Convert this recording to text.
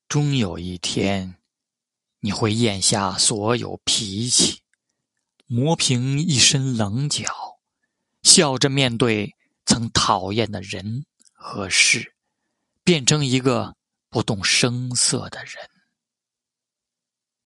终有一天，你会咽下所有脾气，磨平一身棱角，笑着面对曾讨厌的人和事，变成一个不动声色的人。